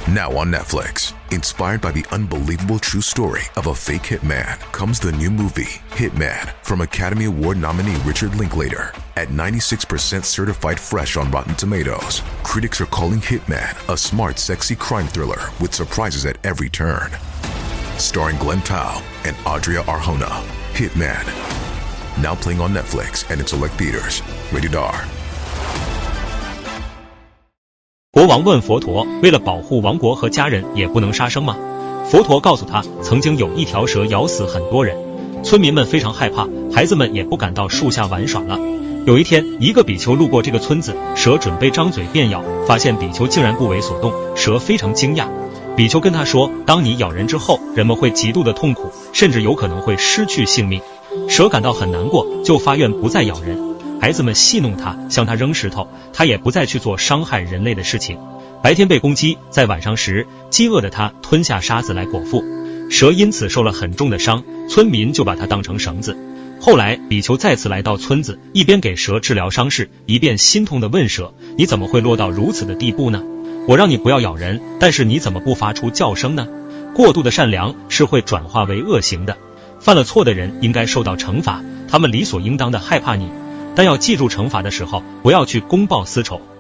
Now on Netflix, inspired by the unbelievable true story of a fake hitman, comes the new movie, Hitman, from Academy Award nominee Richard Linklater. At 96% certified fresh on Rotten Tomatoes, critics are calling Hitman a smart, sexy crime thriller with surprises at every turn. Starring Glenn Powell and Adria Arjona, Hitman. Now playing on Netflix and in select theaters. Rated R. 国王问佛陀，为了保护王国和家人，也不能杀生吗？佛陀告诉他，曾经有一条蛇咬死很多人，村民们非常害怕，孩子们也不敢到树下玩耍了。有一天，一个比丘路过这个村子，蛇准备张嘴便咬，发现比丘竟然不为所动，蛇非常惊讶。比丘跟他说，当你咬人之后，人们会极度的痛苦，甚至有可能会失去性命。蛇感到很难过，就发愿不再咬人。孩子们戏弄他，向他扔石头，他也不再去做伤害人类的事情。白天被攻击，在晚上时，饥饿的他吞下沙子来果腹，蛇因此受了很重的伤，村民就把它当成绳子。后来比丘再次来到村子，一边给蛇治疗伤势，一边心痛地问蛇，你怎么会落到如此的地步呢？我让你不要咬人，但是你怎么不发出叫声呢？过度的善良是会转化为恶行的，犯了错的人应该受到惩罚，他们理所应当的害怕你，但要记住惩罚的时候，不要去公报私仇。